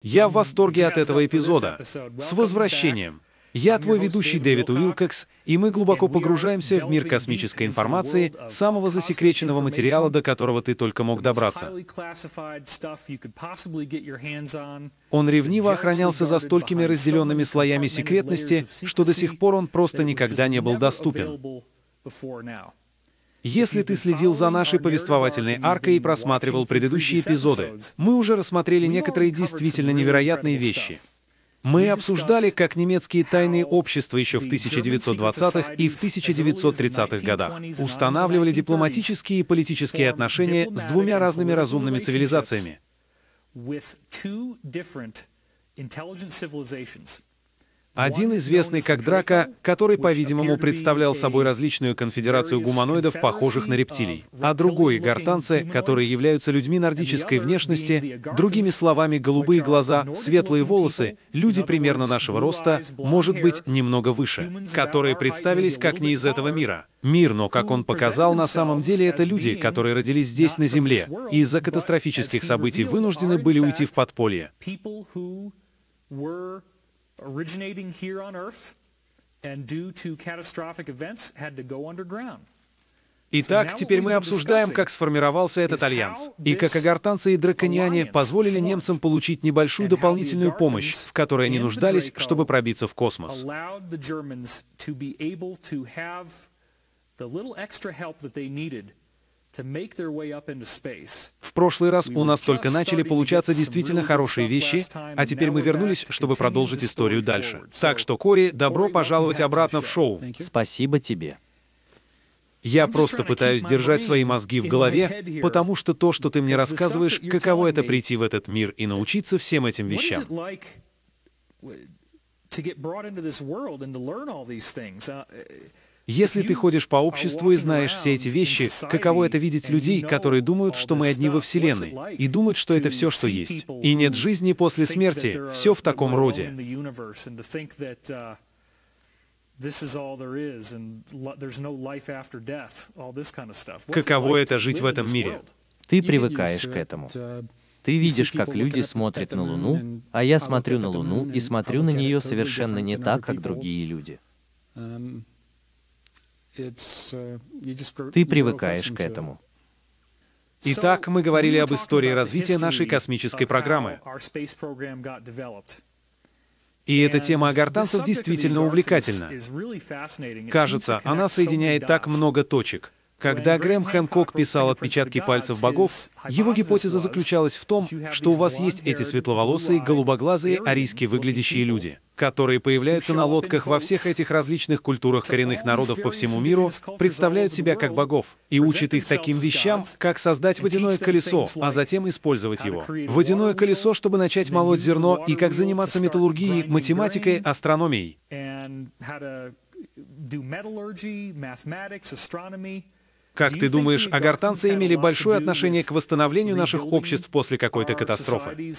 Я в восторге от этого эпизода. С возвращением! Я твой ведущий Дэвид Уилкокс, и мы глубоко погружаемся в мир космической информации, самого засекреченного материала, до которого ты только мог добраться. Он ревниво охранялся за столькими разделенными слоями секретности, что до сих пор он просто никогда не был доступен. Если ты следил за нашей повествовательной аркой и просматривал предыдущие эпизоды, мы уже рассмотрели некоторые действительно невероятные вещи. Мы обсуждали, как немецкие тайные общества еще в 1920-х и в 1930-х годах устанавливали дипломатические и политические отношения с двумя разными разумными цивилизациями. Один известный как Драко, который, по-видимому, представлял собой различную конфедерацию гуманоидов, похожих на рептилий, а другой — гортанцы, которые являются людьми нордической внешности, другими словами, голубые глаза, светлые волосы, люди примерно нашего роста, может быть, немного выше, которые представились как не из этого мира. Мир, но, как он показал, на самом деле это люди, которые родились здесь, на Земле, и из-за катастрофических событий вынуждены были уйти в подполье. Originating here on Earth, and due to catastrophic events, had to go underground. Итак, теперь мы обсуждаем, как сформировался этот альянс, и как агартанцы и дракониане позволили немцам получить небольшую дополнительную помощь, в которой они нуждались, чтобы пробиться в космос. В прошлый раз у нас только начали получаться действительно хорошие вещи, а теперь мы вернулись, чтобы продолжить историю дальше. Так что, Кори, добро пожаловать обратно в шоу. Спасибо тебе. Я просто пытаюсь держать свои мозги в голове, потому что то, что ты мне рассказываешь, каково это прийти в этот мир и научиться всем этим вещам. Если ты ходишь по обществу и знаешь все эти вещи, каково это видеть людей, которые думают, что мы одни во Вселенной, и думают, что это все, что есть, и нет жизни после смерти, все в таком роде. Каково это жить в этом мире? Ты привыкаешь к этому. Ты видишь, как люди смотрят на Луну, а я смотрю на Луну и смотрю на нее совершенно не так, как другие люди. Ты привыкаешь к этому. Итак, мы говорили об истории развития нашей космической программы. И эта тема агартанцев действительно увлекательна. Кажется, она соединяет так много точек. Когда Грэм Хэнкок писал «Отпечатки пальцев богов», его гипотеза заключалась в том, что у вас есть эти светловолосые, голубоглазые, арийски выглядящие люди, которые появляются на лодках во всех этих различных культурах коренных народов по всему миру, представляют себя как богов и учат их таким вещам, как создать водяное колесо, а затем использовать его. Водяное колесо, чтобы начать молоть зерно, и как заниматься металлургией, математикой, астрономией. Как ты думаешь, агартанцы имели большое отношение к восстановлению наших обществ после какой-то катастрофы?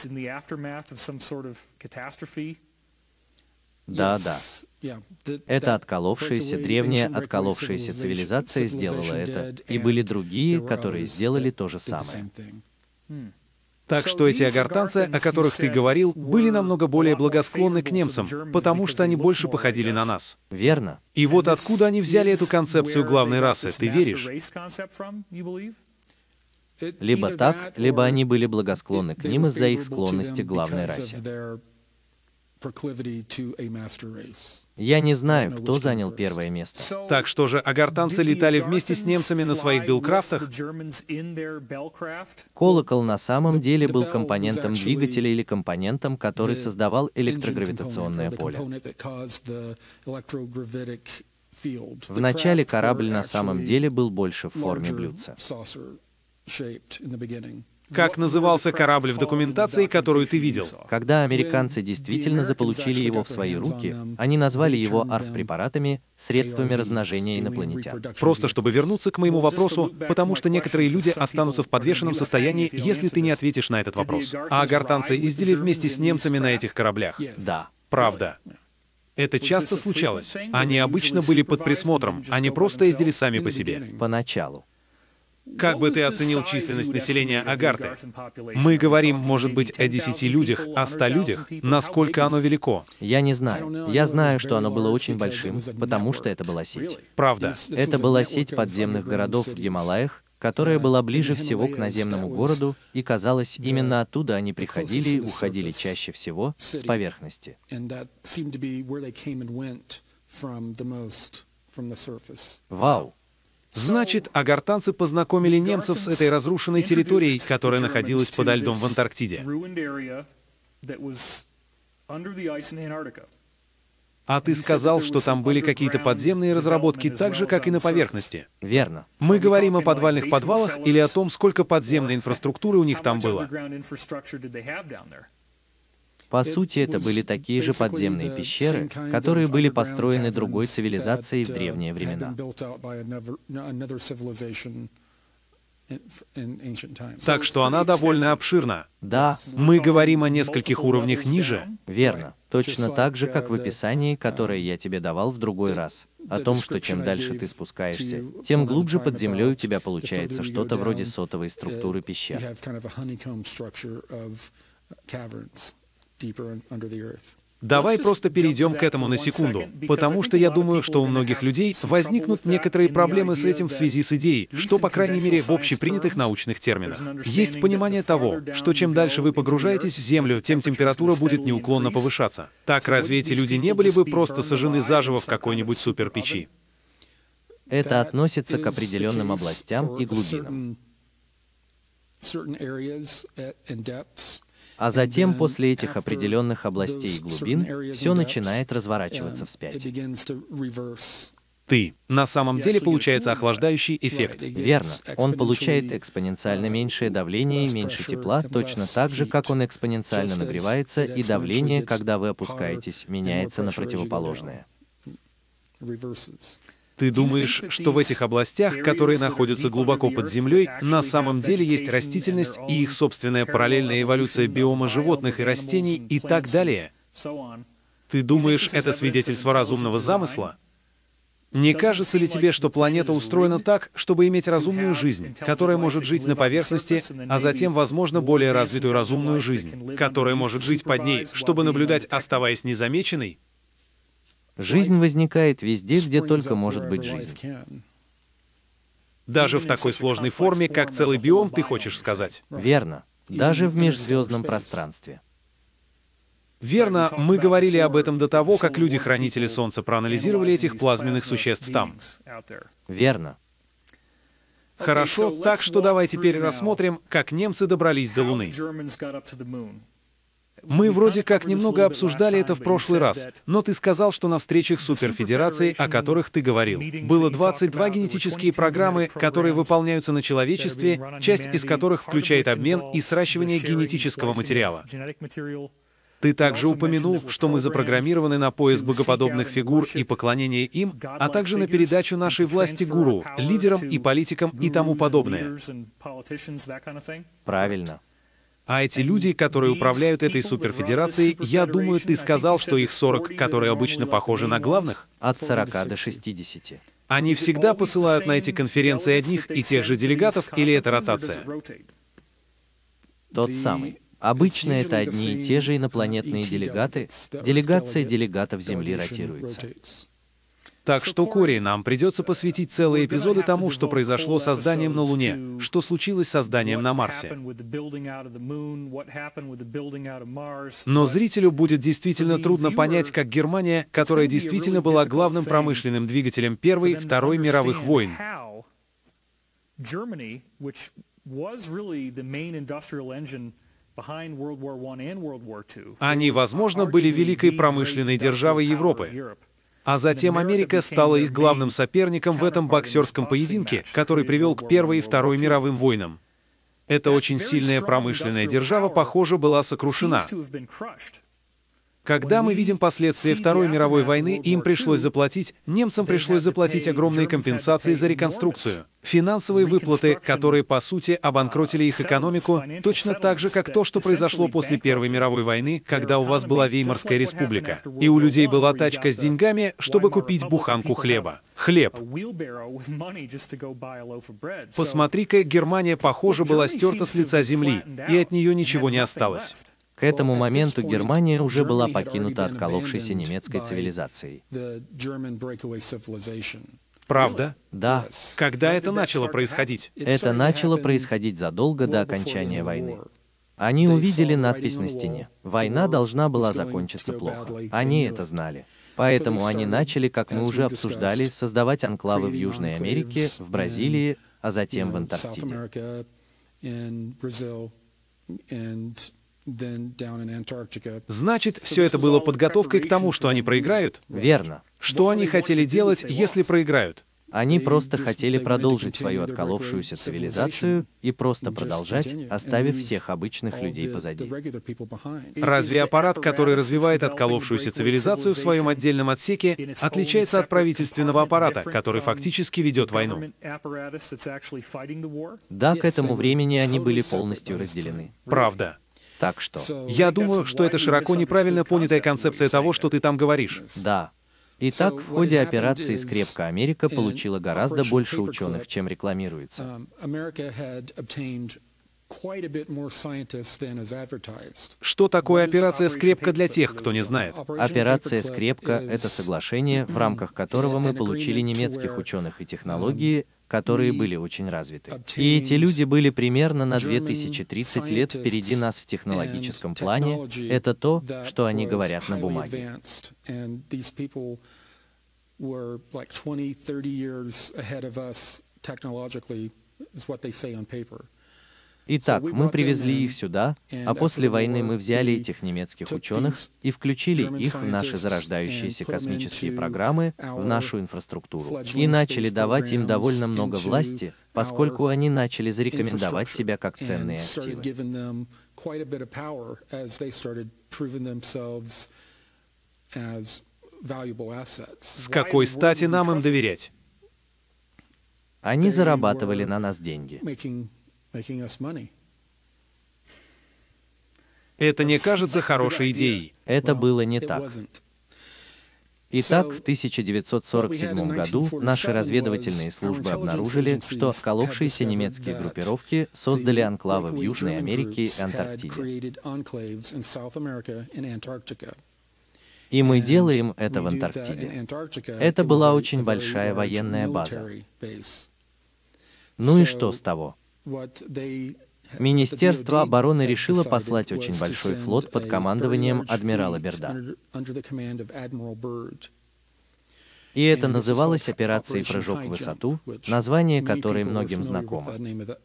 Да. Эта древняя отколовшаяся цивилизация сделала это, и были другие, которые сделали то же самое. Так что эти агартанцы, о которых ты говорил, были намного более благосклонны к немцам, потому что они больше походили на нас. Верно. И вот откуда они взяли эту концепцию главной расы, ты веришь? Либо так, либо они были благосклонны к ним из-за их склонности к главной расе. Я не знаю, кто занял первое место. Так что же, агартанцы летали вместе с немцами на своих Белкрафтах? Колокол на самом деле был компонентом двигателя или компонентом, который создавал электрогравитационное поле. Вначале корабль на самом деле был больше в форме блюдца. Как назывался корабль в документации, которую ты видел? Когда американцы действительно заполучили его в свои руки, они назвали его АРФ-препаратами, средствами размножения инопланетян. Просто чтобы вернуться к моему вопросу, потому что некоторые люди останутся в подвешенном состоянии, если ты не ответишь на этот вопрос. А агартанцы ездили вместе с немцами на этих кораблях? Да. Правда. Это часто случалось. Они обычно были под присмотром, они просто ездили сами по себе. Поначалу. Как бы ты оценил численность населения Агарты? Мы говорим, может быть, о 10 людях, о 100 людях. Насколько оно велико? Я не знаю. Я знаю, что оно было очень большим, потому что это была сеть. Правда. Это была сеть подземных городов в Гималаях, которая была ближе всего к наземному городу, и, казалось, именно оттуда они приходили и уходили чаще всего с поверхности. Вау! Значит, агартанцы познакомили немцев с этой разрушенной территорией, которая находилась подо льдом в Антарктиде. А ты сказал, что там были какие-то подземные разработки, так же, как и на поверхности. Верно. Мы говорим о подвальных подвалах или о том, сколько подземной инфраструктуры у них там было? По сути, это были такие же подземные пещеры, которые были построены другой цивилизацией в древние времена. Так что она довольно обширна. Да. Мы говорим о нескольких уровнях ниже. Верно. Точно так же, как в описании, которое я тебе давал в другой раз. О том, что чем дальше ты спускаешься, тем глубже под землей у тебя получается что-то вроде сотовой структуры пещер. Давай просто перейдем к этому на секунду, потому что я думаю, что у многих людей возникнут некоторые проблемы с этим в связи с идеей, что, по крайней мере, в общепринятых научных терминах. Есть понимание того, что чем дальше вы погружаетесь в Землю, тем температура будет неуклонно повышаться. Так разве эти люди не были бы просто сожжены заживо в какой-нибудь суперпечи? Это относится к определенным областям и глубинам. А затем, после этих определенных областей и глубин, все начинает разворачиваться вспять. На самом деле получается охлаждающий эффект. Верно. Он получает экспоненциально меньшее давление и меньше тепла, точно так же, как он экспоненциально нагревается, и давление, когда вы опускаетесь, меняется на противоположное. Ты думаешь, что в этих областях, которые находятся глубоко под землей, на самом деле есть растительность и их собственная параллельная эволюция биома животных и растений и так далее? Ты думаешь, это свидетельство разумного замысла? Не кажется ли тебе, что планета устроена так, чтобы иметь разумную жизнь, которая может жить на поверхности, а затем, возможно, более развитую разумную жизнь, которая может жить под ней, чтобы наблюдать, оставаясь незамеченной? Жизнь возникает везде, где только может быть жизнь. Даже в такой сложной форме, как целый биом, ты хочешь сказать? Верно. Даже в межзвездном пространстве. Верно, мы говорили об этом до того, как люди-хранители Солнца проанализировали этих плазменных существ там. Верно. Хорошо, так что давай теперь рассмотрим, как немцы добрались до Луны. Мы вроде как немного обсуждали это в прошлый раз, но ты сказал, что на встречах суперфедерации, о которых ты говорил, было 22 генетические программы, которые выполняются на человечестве, часть из которых включает обмен и сращивание генетического материала. Ты также упомянул, что мы запрограммированы на поиск богоподобных фигур и поклонение им, а также на передачу нашей власти гуру, лидерам и политикам и тому подобное. Правильно. А эти люди, которые управляют этой суперфедерацией, я думаю, ты сказал, что их 40, которые обычно похожи на главных? От 40 до 60. Они всегда посылают на эти конференции одних и тех же делегатов, или это ротация? Тот самый. Обычно это одни и те же инопланетные делегаты. Делегация делегатов Земли ротируется. Так что, Кори, нам придется посвятить целые эпизоды тому, что произошло с созданием на Луне, что случилось с созданием на Марсе. Но зрителю будет действительно трудно понять, как Германия, которая действительно была главным промышленным двигателем Первой и Второй мировых войн, они, возможно, были великой промышленной державой Европы. А затем Америка стала их главным соперником в этом боксерском поединке, который привел к Первой и Второй мировым войнам. Эта очень сильная промышленная держава, похоже, была сокрушена. Когда мы видим последствия Второй мировой войны, им пришлось заплатить, немцам пришлось заплатить огромные компенсации за реконструкцию. Финансовые выплаты, которые, по сути, обанкротили их экономику, точно так же, как то, что произошло после Первой мировой войны, когда у вас была Веймарская республика, и у людей была тачка с деньгами, чтобы купить буханку хлеба. Хлеб. Посмотри-ка, Германия, похоже, была стерта с лица земли, и от нее ничего не осталось. К этому моменту Германия уже была покинута отколовшейся немецкой цивилизацией. Правда? Да. Когда это начало происходить? Это начало происходить задолго до окончания войны. Они увидели надпись на стене. Война должна была закончиться плохо. Они это знали. Поэтому они начали, как мы уже обсуждали, создавать анклавы в Южной Америке, в Бразилии, а затем в Антарктиде. Значит, все это было подготовкой к тому, что они проиграют? Верно. Что они хотели делать, если проиграют? Они просто хотели продолжить свою отколовшуюся цивилизацию и просто продолжать, оставив всех обычных людей позади. Разве аппарат, который развивает отколовшуюся цивилизацию в своем отдельном отсеке, отличается от правительственного аппарата, который фактически ведет войну? Да, к этому времени они были полностью разделены. Правда. Так что... Я думаю, что это широко неправильно понятая концепция того, что ты там говоришь. Да. Итак, в ходе операции «Скрепка» Америка получила гораздо больше ученых, чем рекламируется. Что такое операция «Скрепка» для тех, кто не знает? Операция «Скрепка» — это соглашение, в рамках которого мы получили немецких ученых и технологии, которые были очень развиты. И эти люди были примерно на 2030 лет впереди нас в технологическом плане. Это то, что они говорят на бумаге. Итак, мы привезли их сюда, а после войны мы взяли этих немецких ученых и включили их в наши зарождающиеся космические программы, в нашу инфраструктуру, и начали давать им довольно много власти, поскольку они начали зарекомендовать себя как ценные активы. С какой стати нам им доверять? Они зарабатывали на нас деньги. Это не кажется хорошей идеей. Это было не так. Итак, в 1947 году наши разведывательные службы обнаружили, что отколовшиеся немецкие группировки создали анклавы в Южной Америке и Антарктиде. И мы делаем это в Антарктиде. Это была очень большая военная база. Ну и что с того? Министерство обороны решило послать очень большой флот под командованием адмирала Бирда. И это называлось операцией «Прыжок в высоту», название которой многим знакомо.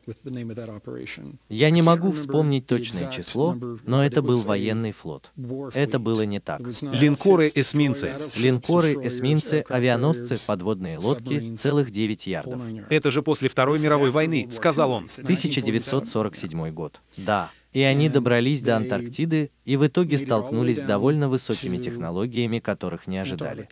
Я не могу вспомнить точное число, но это был военный флот. Это было не так. Линкоры, эсминцы. Линкоры, эсминцы, авианосцы, подводные лодки, целых 9 ярдов. Это же после Второй мировой войны, сказал он. 1947 год. Да. И они добрались до Антарктиды и в итоге столкнулись с довольно высокими технологиями, которых не ожидали.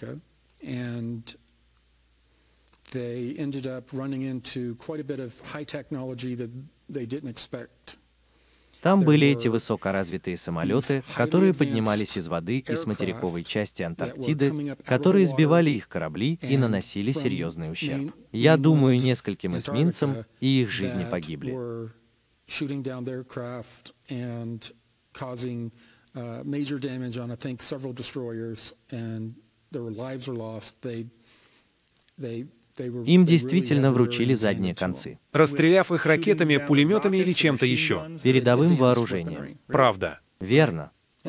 Там были эти высокоразвитые самолеты, которые поднимались из воды и с материковой части Антарктиды, которые сбивали их корабли и наносили серьезный ущерб. Я думаю, нескольким эсминцам и их жизни погибли. Им действительно вручили задние концы, расстреляв их ракетами, пулеметами или чем-то еще. Передовым вооружением. Правда. Верно.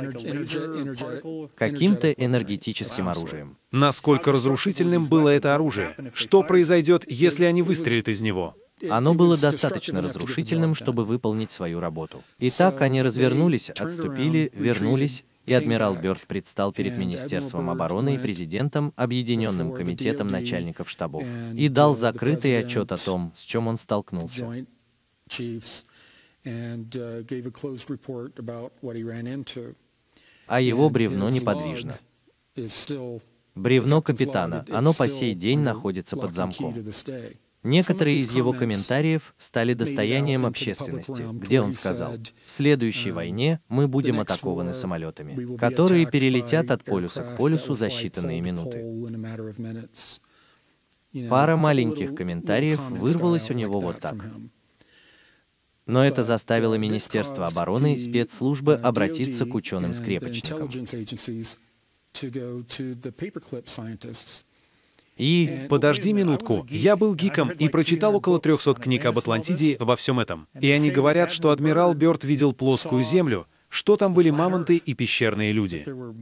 Каким-то энергетическим оружием. Насколько разрушительным было это оружие? Что произойдет, если они выстрелят из него? Оно было достаточно разрушительным, чтобы выполнить свою работу. Итак, они развернулись, отступили, вернулись, и адмирал Бёрд предстал перед Министерством обороны и президентом, Объединенным комитетом начальников штабов, и дал закрытый отчет о том, с чем он столкнулся. а его бревно неподвижно. Бревно капитана, оно по сей день находится под замком. Некоторые из его комментариев стали достоянием общественности, где он сказал: «В следующей войне мы будем атакованы самолетами, которые перелетят от полюса к полюсу за считанные минуты». Пара маленьких комментариев вырвалась у него вот так. Но это заставило Министерство обороны и спецслужбы обратиться к ученым-скрепочникам. И подожди минутку, я был гиком и прочитал около 300 книг об Атлантиде и обо всем этом. И они говорят, что адмирал Бёрд видел плоскую землю, что там были мамонты и пещерные люди.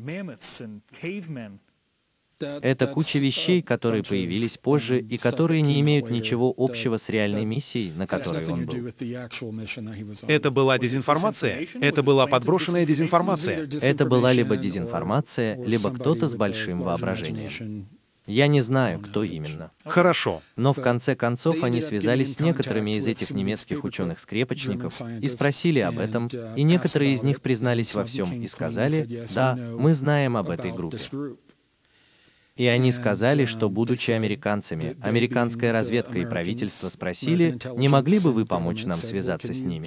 Это куча вещей, которые появились позже и которые не имеют ничего общего с реальной миссией, на которой он был. Это была дезинформация? Это была подброшенная дезинформация? Это была либо дезинформация, либо кто-то с большим воображением. Я не знаю, кто именно. Хорошо. Но в конце концов они связались с некоторыми из этих немецких ученых-скрепочников и спросили об этом, и некоторые из них признались во всем и сказали: «Да, мы знаем об этой группе». И они сказали, что, будучи американцами, американская разведка и правительство спросили, не могли бы вы помочь нам связаться с ними.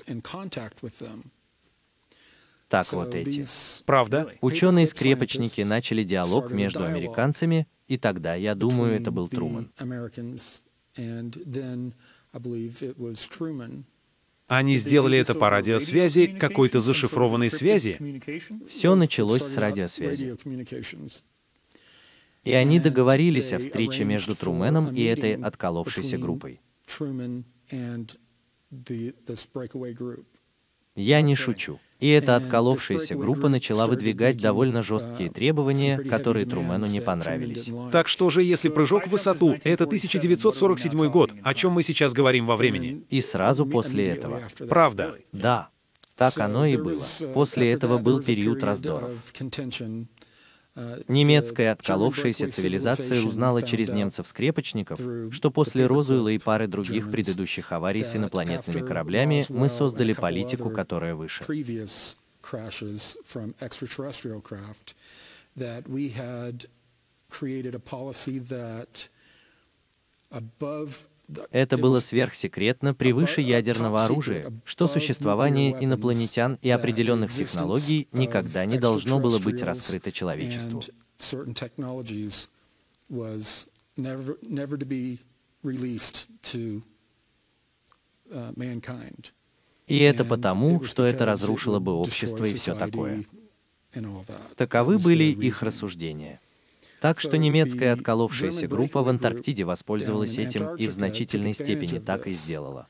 Так вот эти. Правда? Ученые-скрепочники начали диалог между американцами, и тогда, я думаю, это был Трумэн. Они сделали это по радиосвязи, какой-то зашифрованной связи? Все началось с радиосвязи. И они договорились о встрече между Труменом и этой отколовшейся группой. Я не шучу. И эта отколовшаяся группа начала выдвигать довольно жесткие требования, которые Трумену не понравились. Так что же, если прыжок в высоту — это 1947 год, о чем мы сейчас говорим во времени? И сразу после этого. Правда. Да, так оно и было. После этого был период раздоров. Немецкая отколовшаяся цивилизация узнала через немцев-скрепочников, что после Розуэлла и пары других предыдущих аварий с инопланетными кораблями мы создали политику, которая выше. Это было сверхсекретно, превыше ядерного оружия, что существование инопланетян и определенных технологий никогда не должно было быть раскрыто человечеству. И это потому, что это разрушило бы общество и все такое. Таковы были их рассуждения. Так что немецкая отколовшаяся группа в Антарктиде воспользовалась этим и в значительной степени так и сделала.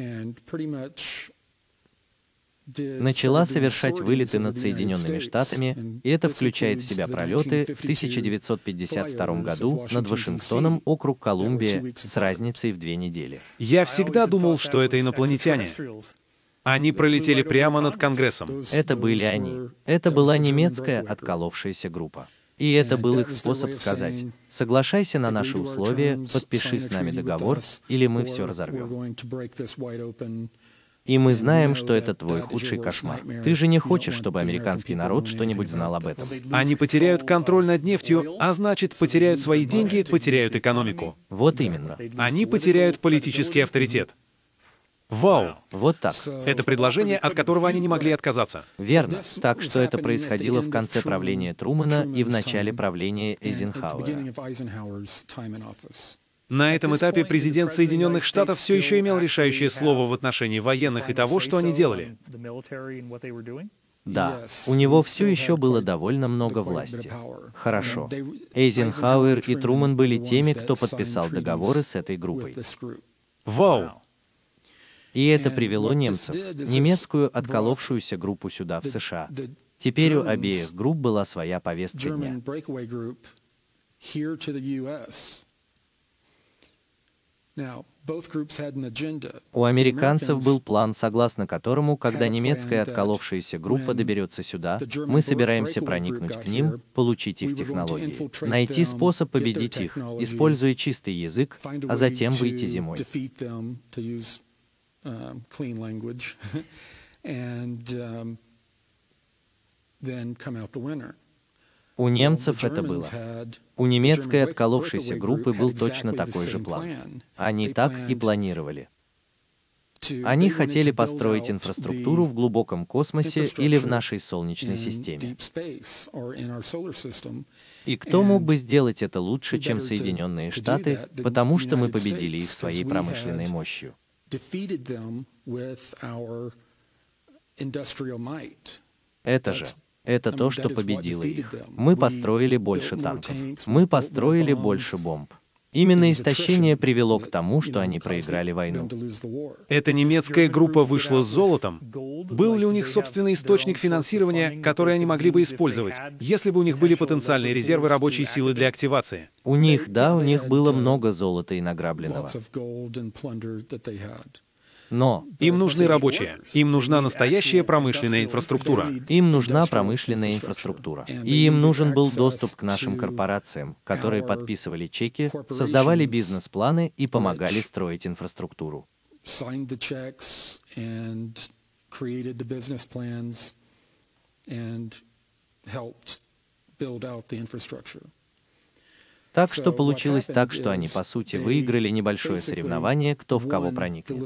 Начала совершать вылеты над Соединенными Штатами, и это включает в себя пролеты в 1952 году над Вашингтоном, округ Колумбия, с разницей в 2 недели. Я всегда думал, что это инопланетяне. Они пролетели прямо над Конгрессом. Это были они. Это была немецкая отколовшаяся группа. И это был их способ сказать: соглашайся на наши условия, подпиши с нами договор, или мы все разорвем. И мы знаем, что это твой худший кошмар. Ты же не хочешь, чтобы американский народ что-нибудь знал об этом. Они потеряют контроль над нефтью, а значит, потеряют свои деньги, потеряют экономику. Вот именно. Они потеряют политический авторитет. Вау! Вот так. Это предложение, от которого они не могли отказаться. Верно. Так что это происходило в конце правления Трумэна и в начале правления Эйзенхауэра. На этом этапе президент Соединенных Штатов все еще имел решающее слово в отношении военных и того, что они делали. Да, у него все еще было довольно много власти. Хорошо. Эйзенхауэр и Трумэн были теми, кто подписал договоры с этой группой. Вау! И это привело немцев, немецкую отколовшуюся группу сюда, в США. Теперь у обеих групп была своя повестка дня. У американцев был план, согласно которому, когда немецкая отколовшаяся группа доберется сюда, мы собираемся проникнуть к ним, получить их технологии, найти способ победить их, используя чистый язык, а затем выйти зимой. У немцев это было. У немецкой отколовшейся группы был точно такой же план. Они так и планировали. Они хотели построить инфраструктуру в глубоком космосе или в нашей Солнечной системе. И кто мог бы сделать это лучше, чем Соединенные Штаты, потому что мы победили их своей промышленной мощью. Это то, что победило их. Мы построили больше танков. Мы построили больше бомб. Именно истощение привело к тому, что они проиграли войну. Эта немецкая группа вышла с золотом. Был ли у них собственный источник финансирования, который они могли бы использовать, если бы у них были потенциальные резервы рабочей силы для активации? У них было много золота и награбленного. Но им нужны рабочие, им нужна настоящая промышленная инфраструктура. Им нужна промышленная инфраструктура. И им нужен был доступ к нашим корпорациям, которые подписывали чеки, создавали бизнес-планы и помогали строить инфраструктуру. Так что получилось так, что они, по сути, выиграли небольшое соревнование, кто в кого проникнет.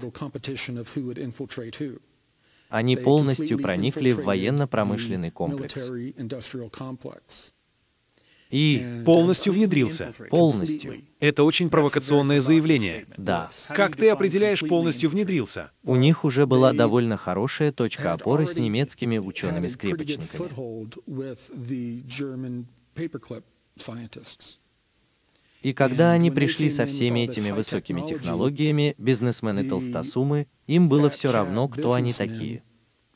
Они полностью проникли в военно-промышленный комплекс. И полностью внедрился. Полностью. Это очень провокационное заявление. Да. Как ты определяешь полностью внедрился? У них уже была довольно хорошая точка опоры с немецкими учеными-скрепочниками. И когда они пришли со всеми этими высокими технологиями, бизнесмены-толстосумы, им было все равно, кто они такие.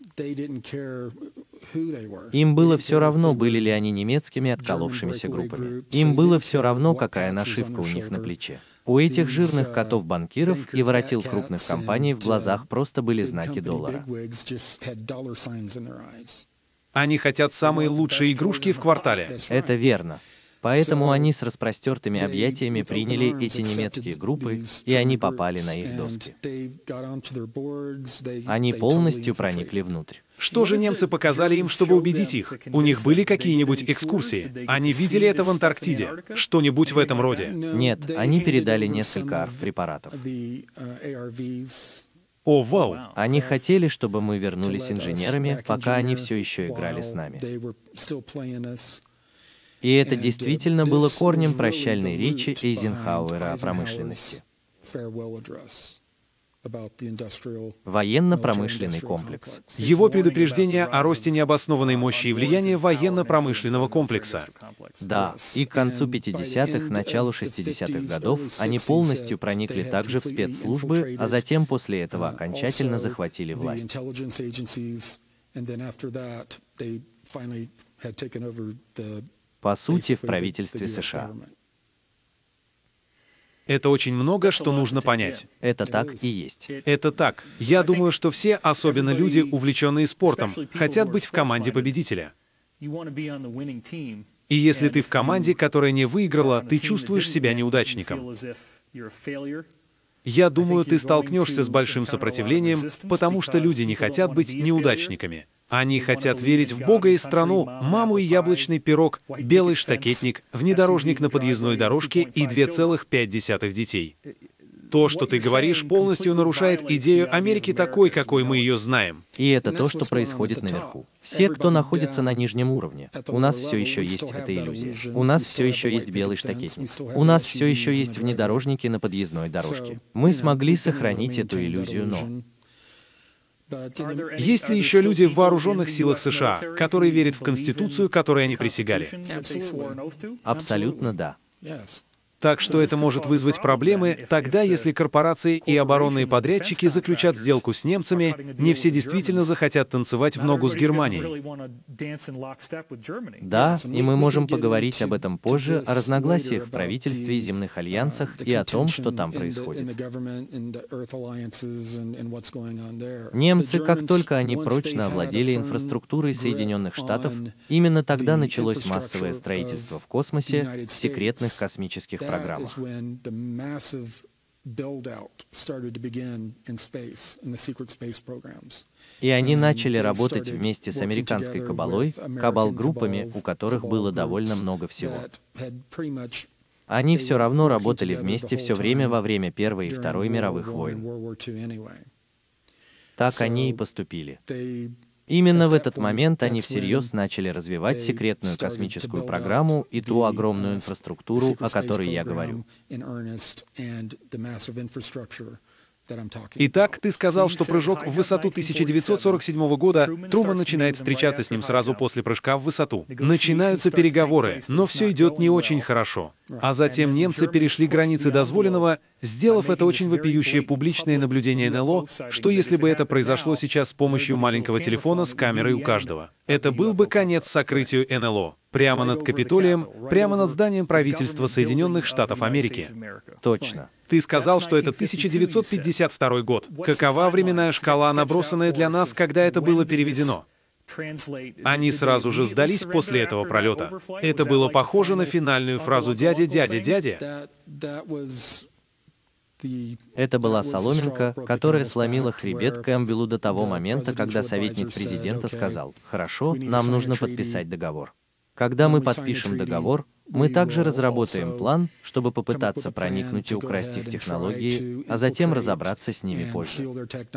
Им было все равно, были ли они немецкими отколовшимися группами. Им было все равно, какая нашивка у них на плече. У этих жирных котов-банкиров и воротил крупных компаний в глазах просто были знаки доллара. Они хотят самые лучшие игрушки в квартале. Это верно. Поэтому они с распростертыми объятиями приняли эти немецкие группы, и они попали на их доски. Они полностью проникли внутрь. Что же немцы показали им, чтобы убедить их? У них были какие-нибудь экскурсии? Они видели это в Антарктиде? Что-нибудь в этом роде? Нет, они передали несколько ARV-препаратов. О, вау! Они хотели, чтобы мы вернулись инженерами, пока они все еще играли с нами. И это действительно было корнем прощальной речи Эйзенхауэра о промышленности. Военно-промышленный комплекс. Его предупреждение о росте необоснованной мощи и влияния военно-промышленного комплекса. Да, и к концу 50-х, началу 60-х годов они полностью проникли также в спецслужбы, а затем после этого окончательно захватили власть. По сути, в правительстве США. Это очень много, что нужно понять. Это так и есть. Это так. Я думаю, что все, особенно люди, увлеченные спортом, хотят быть в команде победителя. И если ты в команде, которая не выиграла, ты чувствуешь себя неудачником. Я думаю, ты столкнешься с большим сопротивлением, потому что люди не хотят быть неудачниками. Они хотят верить в Бога и страну, маму и яблочный пирог, белый штакетник, внедорожник на подъездной дорожке и 2,5 детей. То, что ты говоришь, полностью нарушает идею Америки такой, какой мы ее знаем. И это то, что происходит наверху. Все, кто находится на нижнем уровне, у нас все еще есть эта иллюзия. У нас все еще есть белый штакетник. У нас все еще есть внедорожники на подъездной дорожке. Мы смогли сохранить эту иллюзию, но... Есть ли еще люди в вооруженных силах США, которые верят в Конституцию, которой они присягали? Абсолютно да. Так что это может вызвать проблемы тогда, если корпорации и оборонные подрядчики заключат сделку с немцами, не все действительно захотят танцевать в ногу с Германией. Да, и мы можем поговорить об этом позже, о разногласиях в правительстве и земных альянсах и о том, что там происходит. Немцы, как только они прочно овладели инфраструктурой Соединенных Штатов, именно тогда началось массовое строительство в космосе, в секретных космических программах. И они начали работать вместе с американской кабалой, кабал-группами, у которых было довольно много всего. Они все равно работали вместе все время во время Первой и Второй мировых войн. Так они и поступили. Именно в этот момент они всерьез начали развивать секретную космическую программу и ту огромную инфраструктуру, о которой я говорю. Итак, ты сказал, что прыжок в высоту 1947 года, Труман начинает встречаться с ним сразу после прыжка в высоту. Начинаются переговоры, но все идет не очень хорошо. А затем немцы перешли границы дозволенного, сделав это очень вопиющее публичное наблюдение НЛО, что если бы это произошло сейчас с помощью маленького телефона с камерой у каждого. Это был бы конец сокрытию НЛО. Прямо над Капитолием, прямо над зданием правительства Соединенных Штатов Америки. Точно. Ты сказал, что это 1952 год. Какова временная шкала, набросанная для нас, когда это было переведено? Они сразу же сдались после этого пролета. Это было похоже на финальную фразу «дядя, дядя, дядя». Это была соломинка, которая сломила хребет Кэмпбеллу до того момента, когда советник президента сказал: «Хорошо, нам нужно подписать договор». Когда мы подпишем договор, мы также разработаем план, чтобы попытаться проникнуть и украсть их технологии, а затем разобраться с ними позже.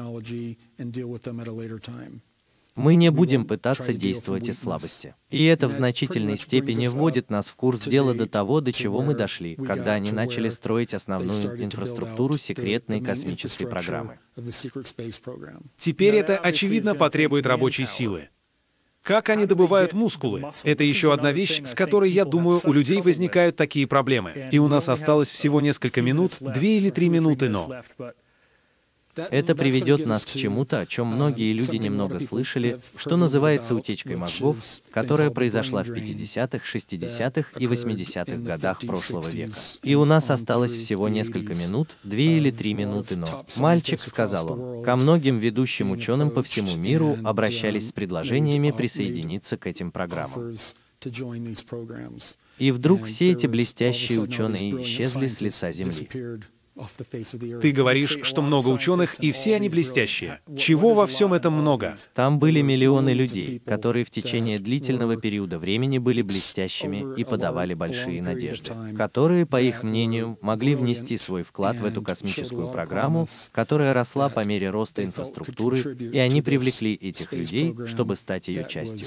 Мы не будем пытаться действовать из слабости. И это в значительной степени вводит нас в курс дела до того, до чего мы дошли, когда они начали строить основную инфраструктуру секретной космической программы. Теперь это, очевидно, потребует рабочей силы. Как они добывают мускулы? Это еще одна вещь, с которой, я думаю, у людей возникают такие проблемы. И у нас осталось всего несколько минут, 2 или 3 минуты, но... Это приведет нас к чему-то, о чем многие люди немного слышали, что называется утечкой мозгов, которая произошла в 50-х, 60-х и 80-х годах прошлого века. И у нас осталось всего несколько минут, 2 или 3 минуты, но... «Мальчик», — сказал он, — «ко многим ведущим ученым по всему миру обращались с предложениями присоединиться к этим программам. И вдруг все эти блестящие ученые исчезли с лица Земли». Ты говоришь, что много ученых, и все они блестящие. Чего во всем этом много? Там были миллионы людей, которые в течение длительного периода времени были блестящими и подавали большие надежды, которые, по их мнению, могли внести свой вклад в эту космическую программу, которая росла по мере роста инфраструктуры, и они привлекли этих людей, чтобы стать ее частью.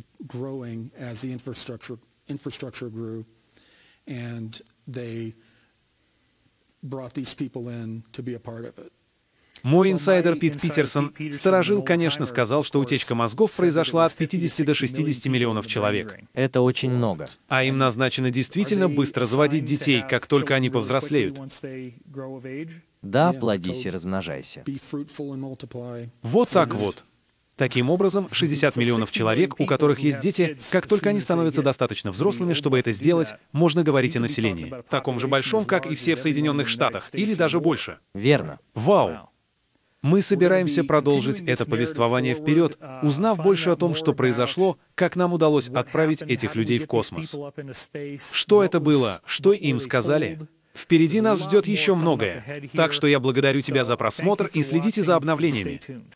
Мой инсайдер Пит Питерсон, сторожил, конечно, сказал, что утечка мозгов произошла от 50 до 60 миллионов человек. Это очень много. А им назначено действительно быстро заводить детей, как только они повзрослеют. Да, плодись и размножайся. Вот так вот. Таким образом, 60 миллионов человек, у которых есть дети, как только они становятся достаточно взрослыми, чтобы это сделать, можно говорить о населении, таком же большом, как и все в Соединенных Штатах, или даже больше. Верно. Вау! Мы собираемся продолжить это повествование вперед, узнав больше о том, что произошло, как нам удалось отправить этих людей в космос. Что это было? Что им сказали? Впереди нас ждет еще многое. Так что я благодарю тебя за просмотр и следите за обновлениями.